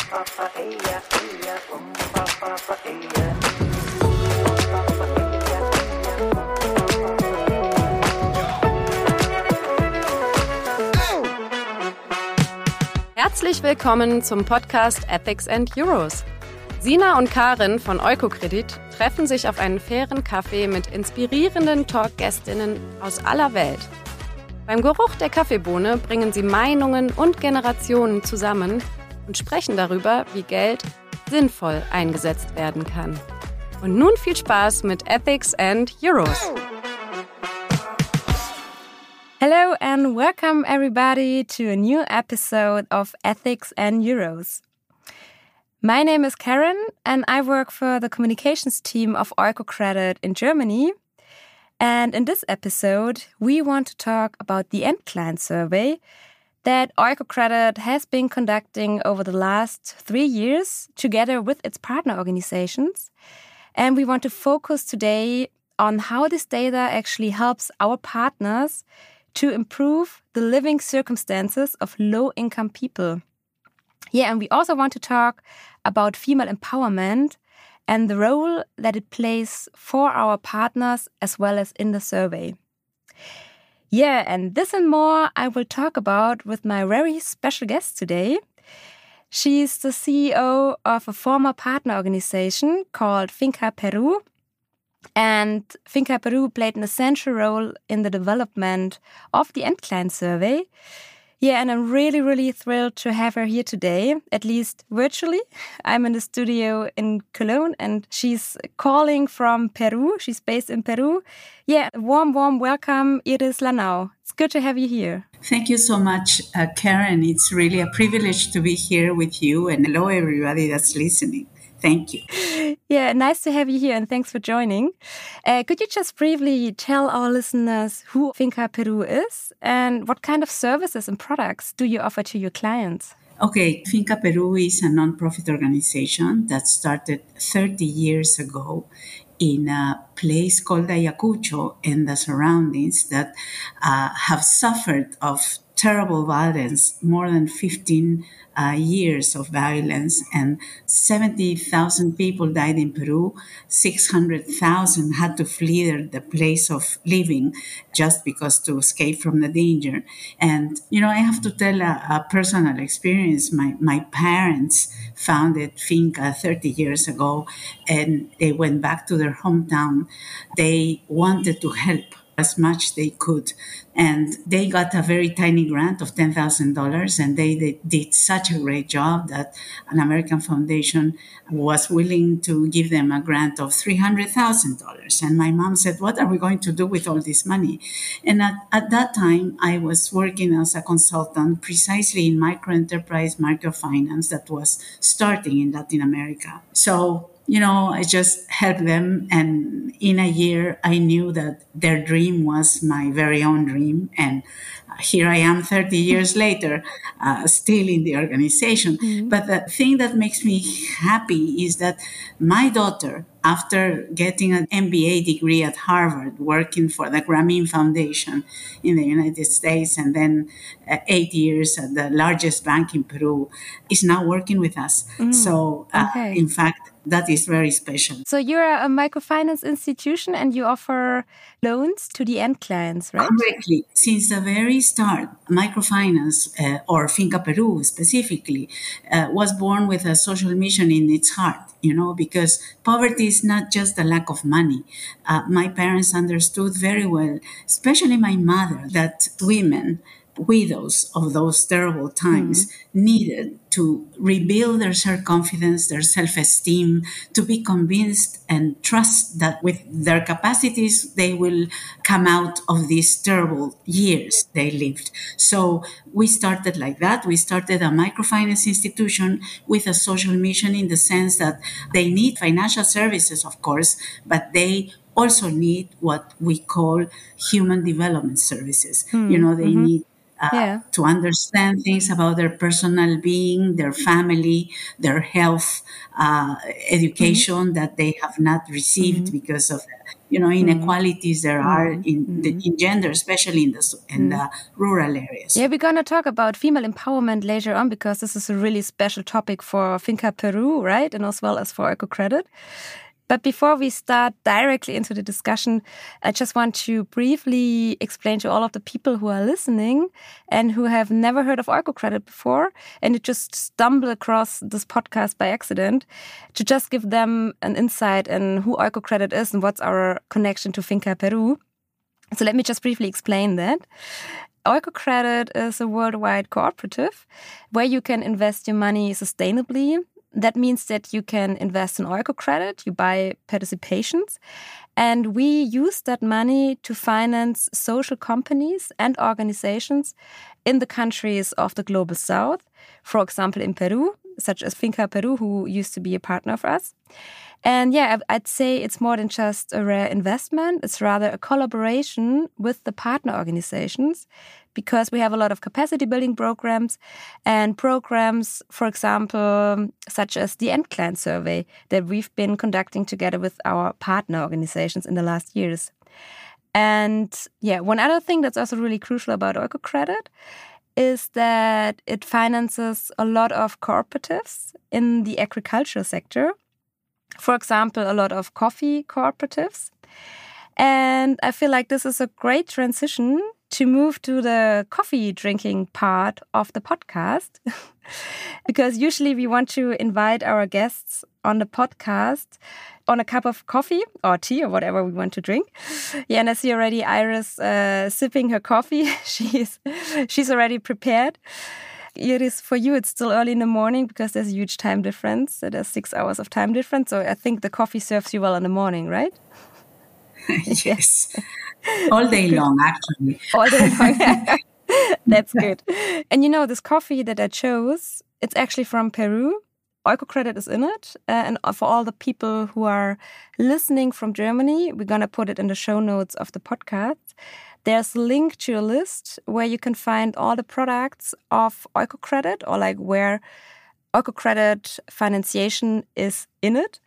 Herzlich willkommen zum Podcast Ethics and Euros. Sina und Karin von Eukokredit treffen sich auf einen fairen Kaffee mit inspirierenden Talkgästinnen aus aller Welt. Beim Geruch der Kaffeebohne bringen sie Meinungen und Generationen zusammen und sprechen darüber, wie Geld sinnvoll eingesetzt werden kann. Und nun viel Spaß mit Ethics and Euros. Hello and welcome everybody to a new episode of Ethics and Euros. My name is Karen and I work for the communications team of Eukokredit in Germany. And in this episode, we want to talk about the end client survey that Eukokredit has been conducting over the last 3 years together with its partner organizations. And we want to focus today on how this data actually helps our partners to improve the living circumstances of low-income people. Yeah, and we also want to talk about female empowerment and the role that it plays for our partners as well as in the survey. Yeah, and this and more I will talk about with my very special guest today. She's the CEO of a former partner organization called Finca Peru. And Finca Peru played an essential role in the development of the end client survey. Yeah, and I'm really, really thrilled to have her here today, at least virtually. I'm in the studio in Cologne and she's calling from Peru. She's based in Peru. Yeah, warm welcome, Iris Lanau. It's good to have you here. Thank you so much, Karen. It's really a privilege to be here with you, and hello everybody that's listening. Thank you. Yeah, nice to have you here and thanks for joining. Could you just briefly tell our listeners who Finca Peru is and what kind of services and products do you offer to your clients? Okay, Finca Peru is a non-profit organization that started 30 years ago in a place called Ayacucho and the surroundings that have suffered of terrible violence, more than 15 years of violence, and 70,000 people died in Peru. 600,000 had to flee the place of living just because to escape from the danger. And, I have to tell a personal experience. My parents founded Finca 30 years ago, and they went back to their hometown. They wanted to help as much they could. And they got a very tiny grant of $10,000, and they did such a great job that an American foundation was willing to give them a grant of $300,000. And my mom said, what are we going to do with all this money? And at that time, I was working as a consultant precisely in microenterprise microfinance that was starting in Latin America. So I just helped them. And in a year, I knew that their dream was my very own dream. And here I am 30 years later, still in the organization. Mm-hmm. But the thing that makes me happy is that my daughter, after getting an MBA degree at Harvard, working for the Grameen Foundation in the United States, and then 8 years at the largest bank in Peru, is now working with us. So, in fact, that is very special. So you're a microfinance institution and you offer loans to the end clients, right? Correctly. Since the very start, microfinance, or Finca Peru specifically, was born with a social mission in its heart, because poverty is not just a lack of money. My parents understood very well, especially my mother, that women, widows of those terrible times, needed to rebuild their self-confidence, their self-esteem, to be convinced and trust that with their capacities, they will come out of these terrible years they lived. So we started like that. We started a microfinance institution with a social mission in the sense that they need financial services, of course, but they also need what we call human development services. They need to understand things about their personal being, their family, their health, education that they have not received because of inequalities there are in gender, especially in the rural areas. Yeah, we're going to talk about female empowerment later on because this is a really special topic for Finca Peru, right? And as well as for EcoCredit. But before we start directly into the discussion, I just want to briefly explain to all of the people who are listening and who have never heard of EcoCredit before and who just stumble across this podcast by accident, to just give them an insight in who EcoCredit is and what's our connection to Finca Peru. So let me just briefly explain that. EcoCredit is a worldwide cooperative where you can invest your money sustainably. That means that you can invest in EcoCredit, you buy participations, and we use that money to finance social companies and organizations in the countries of the Global South, for example, in Peru, such as Finca Peru, who used to be a partner of us. And yeah, I'd say it's more than just a rare investment. It's rather a collaboration with the partner organizations because we have a lot of capacity building programs and programs, for example, such as the EndClient survey that we've been conducting together with our partner organizations in the last years. And yeah, one other thing that's also really crucial about EcoCredit is that it finances a lot of cooperatives in the agricultural sector. For example, a lot of coffee cooperatives. And I feel like this is a great transition to move to the coffee drinking part of the podcast. Because usually we want to invite our guests on the podcast on a cup of coffee or tea or whatever we want to drink. Yeah, and I see already Iris sipping her coffee. She's already prepared. Iris, for you, it's still early in the morning because there's a huge time difference. There's 6 hours of time difference. So I think the coffee serves you well in the morning, right? Yes. All day long, actually. All day long. That's good. And you know, this coffee that I chose, it's actually from Peru. EcoCredit is in it. And for all the people who are listening from Germany, we're going to put it in the show notes of the podcast. There's a link to a list where you can find all the products of EcoCredit or like where EcoCredit financiation is in it.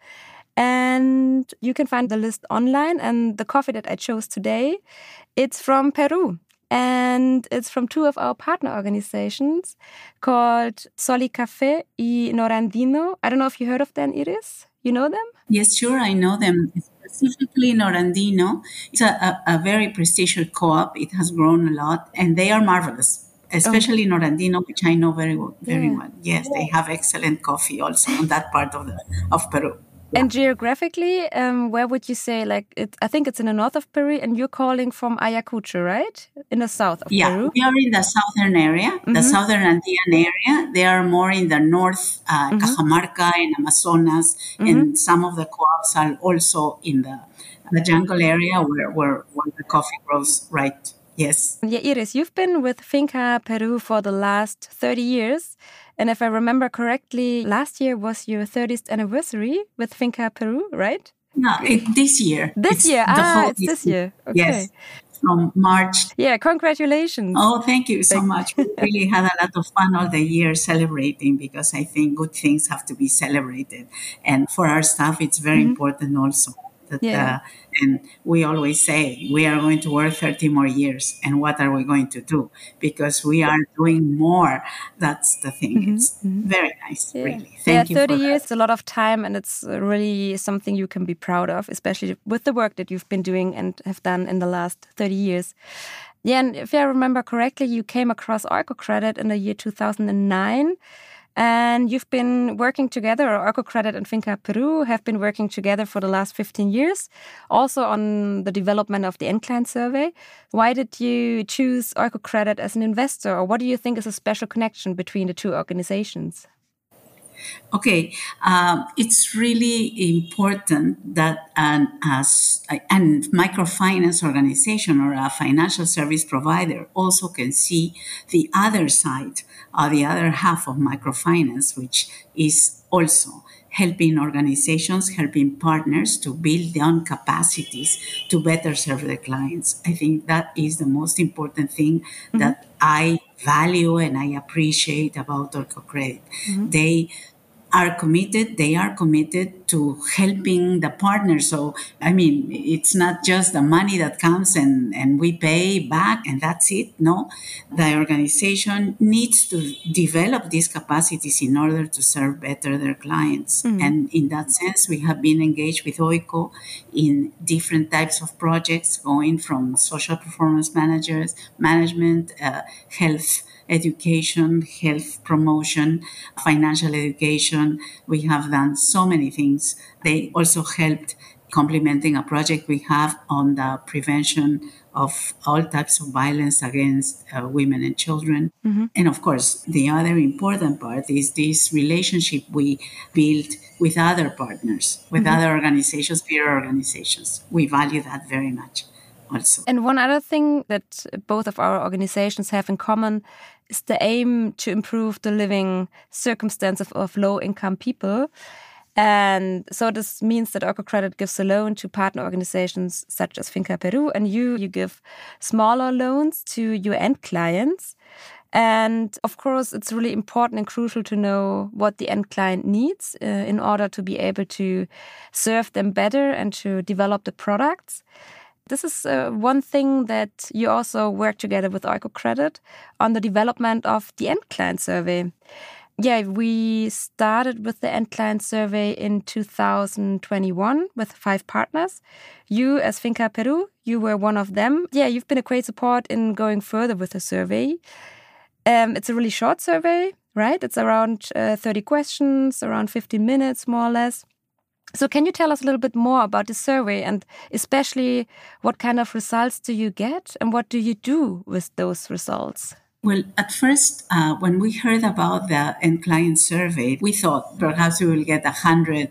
And you can find the list online. And the coffee that I chose today, it's from Peru. And it's from two of our partner organizations called Soli Café y Norandino. I don't know if you heard of them, Iris. You know them? Yes, sure, I know them. Specifically, Norandino. It's a very prestigious co-op. It has grown a lot, and they are marvelous. Especially Norandino, which I know very well. Yes, they have excellent coffee also on that part of Peru. And geographically, where would you say, like, I think it's in the north of Peru, and you're calling from Ayacucho, right? In the south of Peru? Yeah, we are in the southern area, the southern Andean area. They are more in the north, Cajamarca and Amazonas, and some of the co-ops are also in the jungle area where the coffee grows, right? Yes. Yeah, Iris, you've been with Finca Peru for the last 30 years. And if I remember correctly, last year was your 30th anniversary with Finca Peru, right? No, this year. This year? It's this year. Okay. Yes, from March. Yeah, congratulations. Oh, thank you so much. We really had a lot of fun all the year celebrating because I think good things have to be celebrated. And for our staff, it's very important also. And we always say we are going to work 30 more years. And what are we going to do? Because we are doing more. That's the thing. It's very nice, really. Thank you. 30 years is a lot of time, and it's really something you can be proud of, especially with the work that you've been doing and have done in the last 30 years. Yeah, and if I remember correctly, you came across EcoCredit in the year 2009. And you've been working together, or EcoCredit and Finca Peru have been working together for the last 15 years, also on the development of the EndClient survey. Why did you choose EcoCredit as an investor, or what do you think is a special connection between the two organizations? Okay, it's really important that a microfinance organization or a financial service provider also can see the other side, the other half of microfinance, which is also helping organizations, helping partners to build their own capacities to better serve their clients. I think that is the most important thing that I value and I appreciate about OrcoCredit. They are committed to helping the partners. So, I mean, it's not just the money that comes and we pay back and that's it. No, the organization needs to develop these capacities in order to serve better their clients. And in that sense, we have been engaged with OICO in different types of projects, going from social performance management, health education, health promotion, financial education. We have done so many things. They also helped complementing a project we have on the prevention of all types of violence against women and children. And of course, the other important part is this relationship we build with other partners, with other organizations, peer organizations. We value that very much. Also. And one other thing that both of our organizations have in common is the aim to improve the living circumstances of low-income people. And so this means that OrcoCredit gives a loan to partner organizations such as Finca Peru, and you give smaller loans to your end clients. And of course, it's really important and crucial to know what the end client needs in order to be able to serve them better and to develop the products. This is one thing that you also work together with OrcoCredit on the development of the end client survey. Yeah, we started with the end client survey in 2021 with 5 partners. You, as Finca Peru, you were one of them. Yeah, you've been a great support in going further with the survey. It's a really short survey, right? It's around 30 questions, around 15 minutes, more or less. So can you tell us a little bit more about the survey and especially what kind of results do you get and what do you do with those results? Well, at first, when we heard about the end client survey, we thought perhaps we will get 100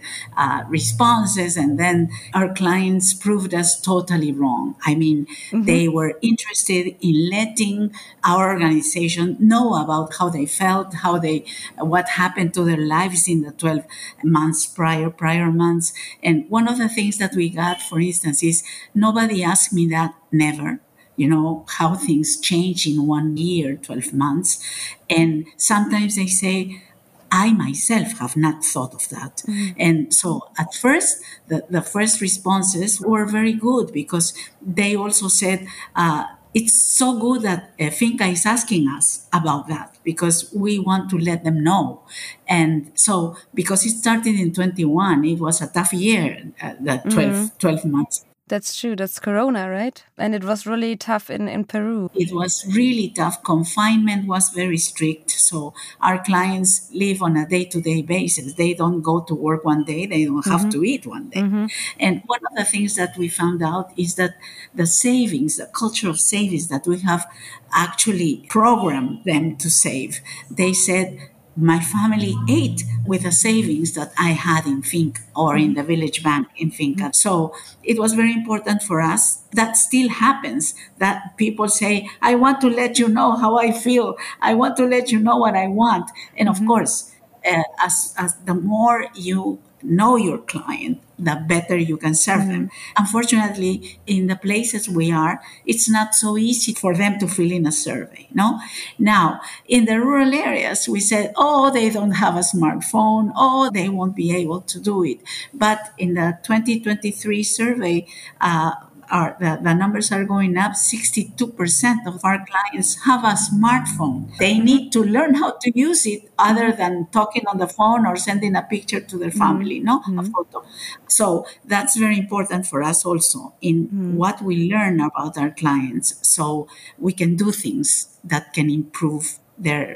responses, and then our clients proved us totally wrong. I mean, they were interested in letting our organization know about how they felt, what happened to their lives in the 12 months prior months. And one of the things that we got, for instance, is nobody asked me that, never. You know, how things change in 1 year, 12 months. And sometimes they say, I myself have not thought of that. And so at first, the first responses were very good because they also said, it's so good that Finca is asking us about that because we want to let them know. And so because it started in 21, it was a tough year, the 12 months. That's true. That's Corona, right? And it was really tough in Peru. It was really tough. Confinement was very strict. So our clients live on a day-to-day basis. They don't go to work one day. They don't have to eat one day. And one of the things that we found out is that the savings, the culture of savings that we have actually programmed them to save. They said, my family ate with the savings that I had in Finca or in the village bank in Finca. So it was very important for us. That still happens, that people say, I want to let you know how I feel. I want to let you know what I want. And of course, as the more you know your client, the better you can serve them. Unfortunately, in the places we are, it's not so easy for them to fill in a survey, no? Now, in the rural areas, we said, oh, they don't have a smartphone, oh, they won't be able to do it. But in the 2023 survey, the numbers are going up. 62% of our clients have a smartphone. They need to learn how to use it other than talking on the phone or sending a picture to their family, a photo. So that's very important for us also in what we learn about our clients so we can do things that can improve their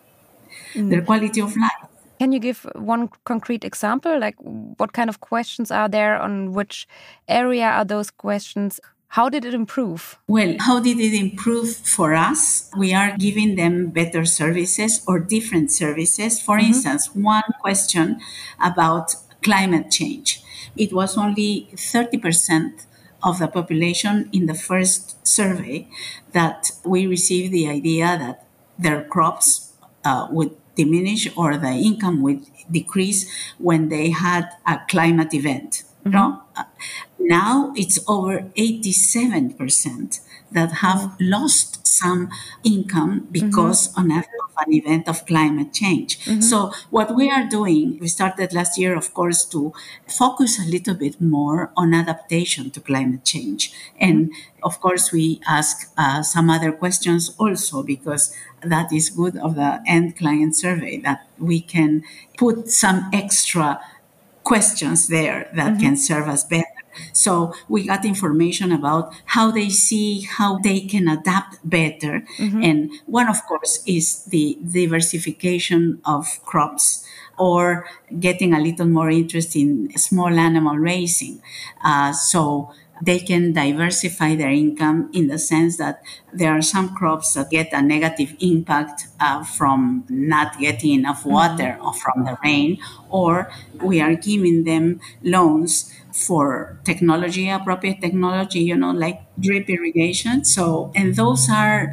quality of life. Can you give one concrete example? Like what kind of questions are there? On which area are those questions? How did it improve? Well, how did it improve for us? We are giving them better services or different services. For instance, one question about climate change. It was only 30% of the population in the first survey that we received the idea that their crops would diminish or the income would decrease when they had a climate event. No? Now it's over 87% that have lost some income because of an event of climate change. So what we are doing, we started last year, of course, to focus a little bit more on adaptation to climate change. And of course, we ask some other questions also because that is good of the end client survey, that we can put some extra questions there that can serve us better. So we got information about how they see, how they can adapt better. And one, of course, is the diversification of crops or getting a little more interest in small animal raising. So they can diversify their income in the sense that there are some crops that get a negative impact from not getting enough water or from the rain, or we are giving them loans for technology, appropriate technology, like drip irrigation. So, and those are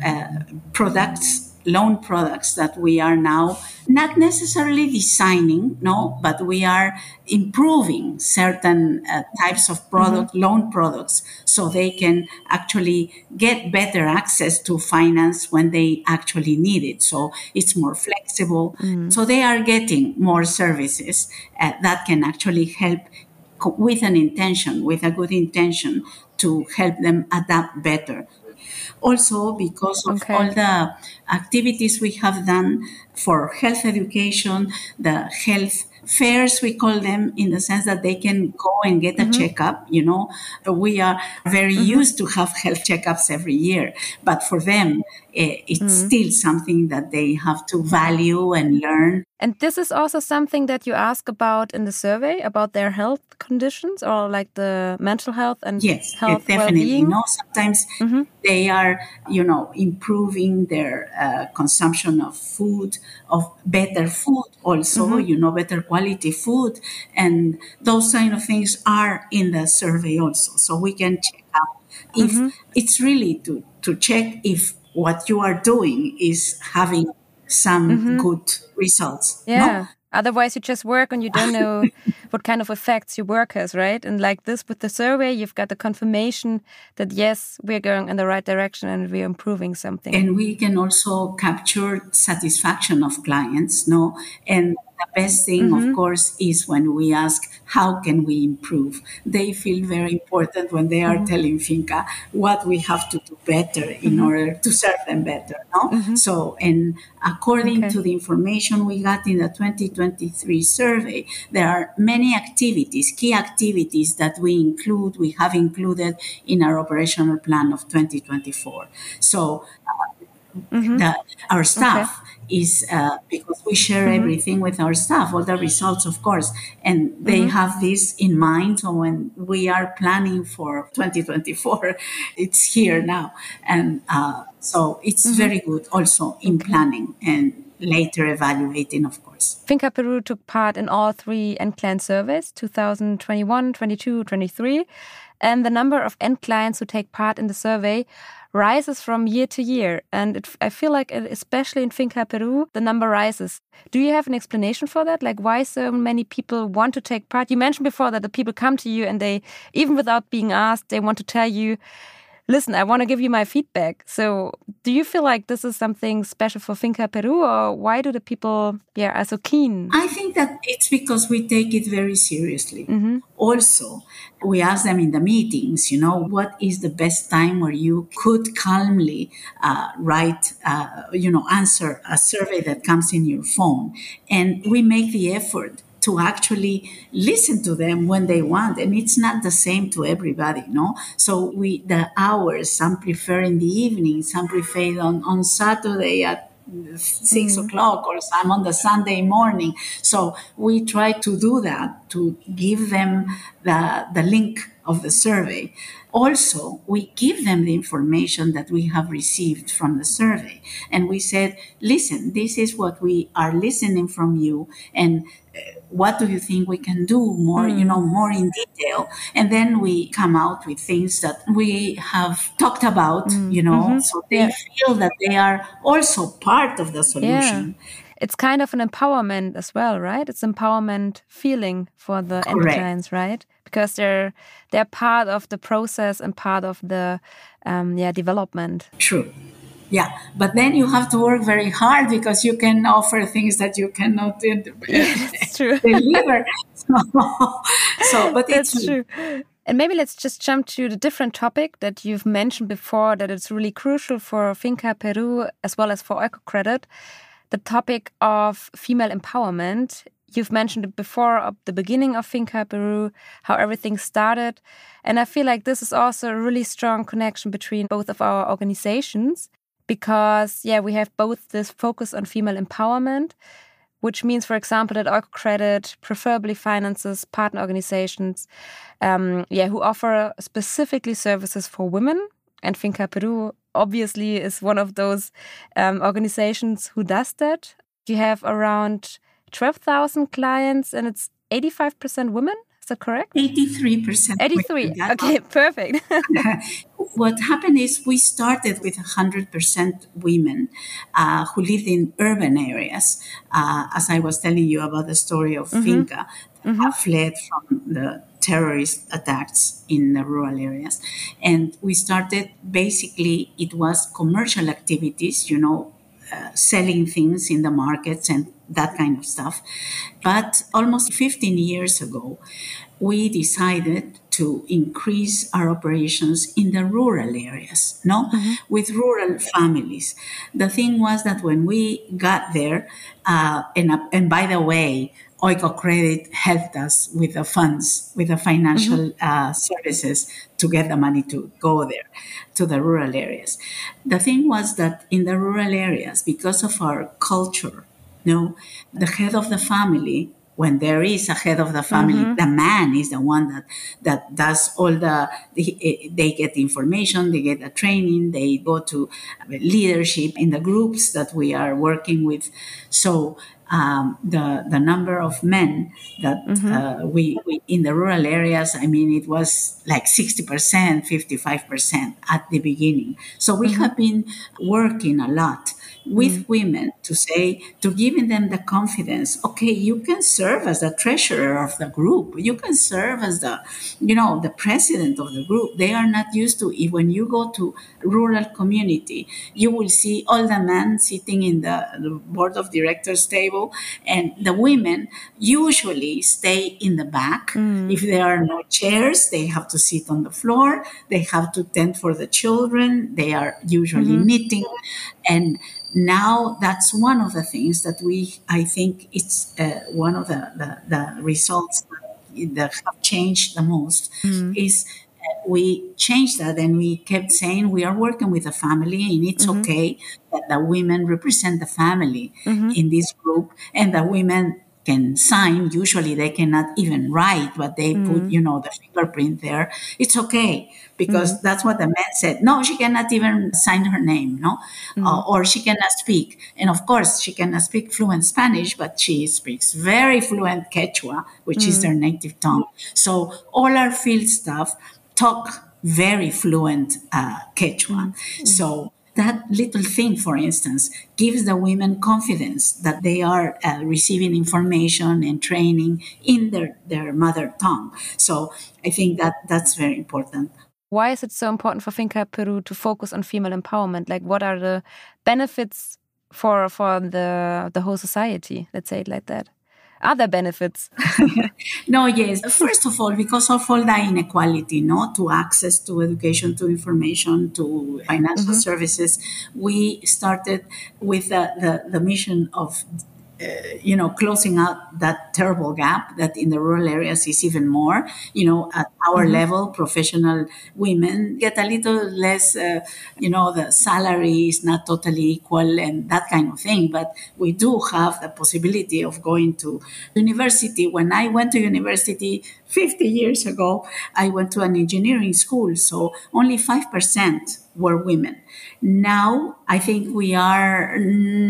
loan products that we are now not necessarily designing, no, but we are improving certain types of loan products, so they can actually get better access to finance when they actually need it. So it's more flexible. So they are getting more services that can actually help with a good intention to help them adapt better. Also, because of all the activities we have done for health education, the health fairs, we call them, in the sense that they can go and get a checkup. We are very used to have health checkups every year, but for them, it's still something that they have to value and learn. And this is also something that you ask about in the survey, about their health conditions or like the mental health and health definitely. well-being? No, sometimes they are, improving their consumption of food, of better food also, better quality food. And those kind of things are in the survey also. So we can check out if it's really to check if what you are doing is having some good results. Yeah. No? Otherwise, you just work and you don't know what kind of effects your work has, right? And like this with the survey, you've got the confirmation that, yes, we're going in the right direction and we're improving something. And we can also capture satisfaction of clients, no? And the best thing, of course, is when we ask, how can we improve? They feel very important when they are telling Finca what we have to do better in order to serve them better, no? So, and according to the information we got in the 2023 survey, there are many activities, key activities that we have included in our operational plan of 2024. So our staff is, because we share everything with our staff, all the results, of course, and they have this in mind. So when we are planning for 2024, it's here now. And so it's very good also in planning and later evaluating, of course. Finca Peru took part in all 3 end client surveys, 2021, 22, 23. And the number of end clients who take part in the survey rises from year to year. And I feel like, especially in Finca Peru, the number rises. Do you have an explanation for that? Like why so many people want to take part? You mentioned before that the people come to you and they, even without being asked, they want to tell you, listen, I want to give you my feedback. So do you feel like this is something special for Finca Peru, or why do the people are so keen? I think that it's because we take it very seriously. Also, we ask them in the meetings, what is the best time where you could calmly answer a survey that comes in your phone. And we make the effort to actually listen to them when they want. And it's not the same to everybody, no? So the hours, some prefer in the evening, some prefer on Saturday at 6 o'clock, or some on the Sunday morning. So we try to do that, to give them the link of the survey. Also, we give them the information that we have received from the survey. And we said, listen, this is what we are listening from you. And what do you think we can do more, more in detail? And then we come out with things that we have talked about, so they feel that they are also part of the solution. it's kind of an empowerment as well, right? It's empowerment feeling for the end clients, right? Because they're part of the process and part of the development. True. Yeah, but then you have to work very hard because you can offer things that you cannot deliver. But that's true. And maybe let's just jump to the different topic that you've mentioned before, that it's really crucial for Finca Peru as well as for Oikocredit, the topic of female empowerment. You've mentioned it before at the beginning of Finca Peru, how everything started. And I feel like this is also a really strong connection between both of our organizations because, we have both this focus on female empowerment, which means, for example, that Oikocredit preferably finances partner organizations who offer specifically services for women. And Finca Peru obviously is one of those organizations who does that. You have around 12,000 clients and it's 85% women. Is that correct? 83%. 83. Okay, perfect. What happened is we started with 100% women who lived in urban areas. As I was telling you about the story of Finca, that fled from the terrorist attacks in the rural areas. And we started, basically, it was commercial activities, selling things in the markets and that kind of stuff. But almost 15 years ago, we decided to increase our operations in the rural areas, with rural families. The thing was that when we got there, and by the way, Oikocredit helped us with the funds, with the financial services to get the money to go there, to the rural areas. The thing was that in the rural areas, because of our culture, the head of the family, when there is a head of the family, the man is the one that does all they get the information, they get the training, they go to leadership in the groups that we are working with. So the number of men that we in the rural areas, it was like 60%, 55% at the beginning. So we have been working a lot with women to giving them the confidence. Okay, you can serve as the treasurer of the group. You can serve as the president of the group. They are not used to it. When you go to rural community, you will see all the men sitting in the board of directors table, and the women usually stay in the back. If there are no chairs, they have to sit on the floor. They have to tend for the children. They are usually knitting. And now that's one of the things that I think it's one of the results that have changed the most is we changed that, and we kept saying we are working with a family, and it's okay that the women represent the family in this group, and the women can sign. Usually they cannot even write, but they put, the fingerprint there. It's okay, because that's what the man said. No, she cannot even sign her name, or she cannot speak. And of course, she cannot speak fluent Spanish, but she speaks very fluent Quechua, which is their native tongue. So all our field staff talk very fluent Quechua. So that little thing, for instance, gives the women confidence that they are receiving information and training in their mother tongue. So I think that's very important. Why is it so important for Finca Peru to focus on female empowerment? Like, what are the benefits for the whole society? Let's say it like that. Other benefits? No, yes. First of all, because of all the inequality, to access to education, to information, to financial services, we started with the mission of closing out that terrible gap that in the rural areas is even more. At our level, professional women get a little less, the salary is not totally equal and that kind of thing. But we do have the possibility of going to university. When I went to university 50 years ago, I went to an engineering school, so only 5% were women. Now, I think we are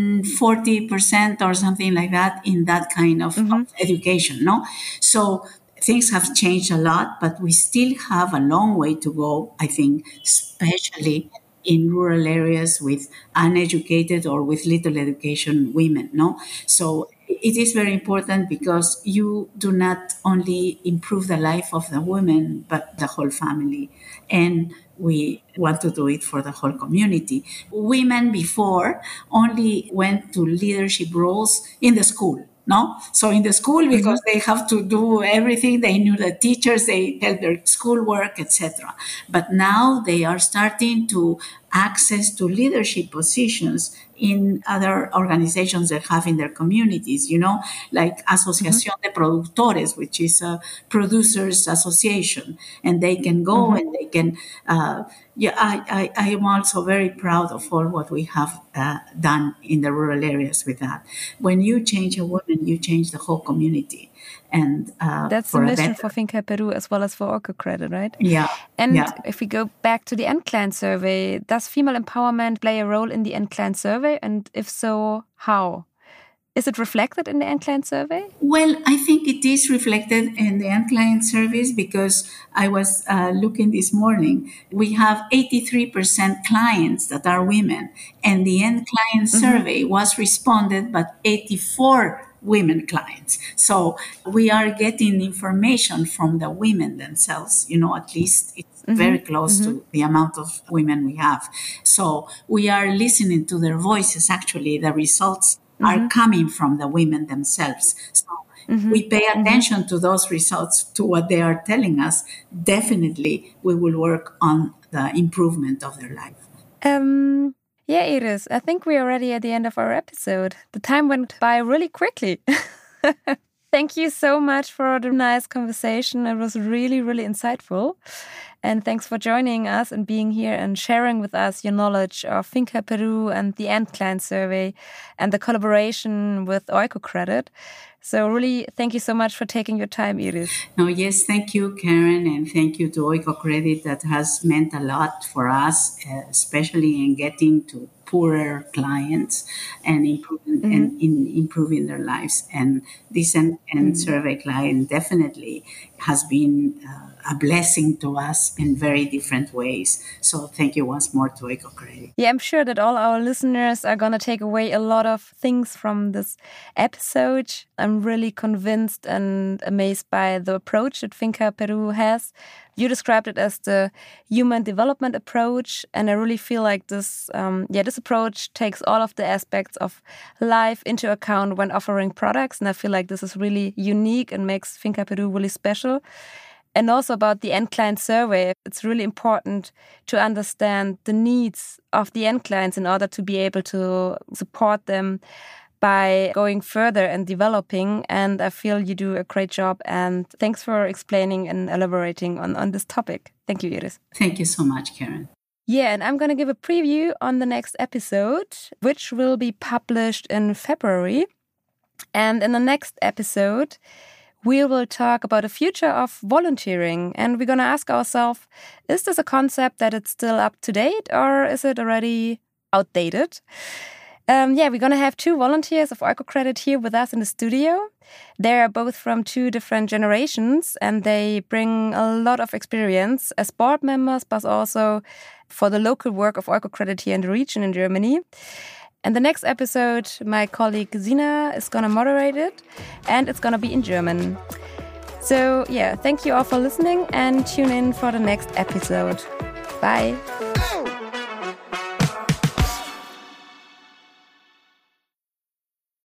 40% or something like that in that kind of education, So things have changed a lot, but we still have a long way to go, I think, especially in rural areas with uneducated or with little education women, no? So it is very important because you do not only improve the life of the women, but the whole family. And we want to do it for the whole community. Women before only went to leadership roles in the school. No, so in the school, because they have to do everything, they knew the teachers, they help their schoolwork, etc. But now they are starting to access to leadership positions in other organizations they have in their communities, like Asociación de Productores, which is a producers association, and they can go and they can, I am also very proud of all what we have done in the rural areas with that. When you change a woman, you change the whole community. And that's the mission for Finca Peru as well as for OICOcredit, right? Yeah. And if we go back to the NCLINE survey, does female empowerment play a role in the NCLINE survey? And if so, how? Is it reflected in the NCLINE survey? Well, I think it is reflected in the NCLINE surveys because I was looking this morning. We have 83% clients that are women, and the NCLINE survey was responded by 84 women clients. So we are getting information from the women themselves, at least it's very close to the amount of women we have. So we are listening to their voices. Actually, the results are coming from the women themselves. So we pay attention to those results, to what they are telling us. Definitely, we will work on the improvement of their life. Yeah, Iris, I think we're already at the end of our episode. The time went by really quickly. Thank you so much for the nice conversation. It was really, really insightful. And thanks for joining us and being here and sharing with us your knowledge of Finca Peru and the NCLINE survey and the collaboration with OICOcredit. So really, thank you so much for taking your time, Iris. No, yes, thank you, Karen, and thank you to OICOcredit. That has meant a lot for us, especially in getting to poorer clients and improving their lives. And this survey client definitely has been a blessing to us in very different ways. So thank you once more to OICOcredit. Yeah, I'm sure that all our listeners are going to take away a lot of things from this episode. I'm really convinced and amazed by the approach that Finca Peru has. You described it as the human development approach, and I really feel like this approach takes all of the aspects of life into account when offering products, and I feel like this is really unique and makes Finca Peru really special. And also about the NCLINE survey, it's really important to understand the needs of the NCLINEs in order to be able to support them by going further and developing. And I feel you do a great job. And thanks for explaining and elaborating on this topic. Thank you, Iris. Thank you so much, Karen. Yeah, and I'm going to give a preview on the next episode, which will be published in February. And in the next episode, we will talk about the future of volunteering. And we're going to ask ourselves, is this a concept that it's still up to date or is it already outdated? We're going to have two volunteers of OICOcredit here with us in the studio. They are both from two different generations and they bring a lot of experience as board members, but also for the local work of OICOcredit here in the region in Germany. And the next episode, my colleague Zina is going to moderate it and it's going to be in German. So, thank you all for listening and tune in for the next episode. Bye.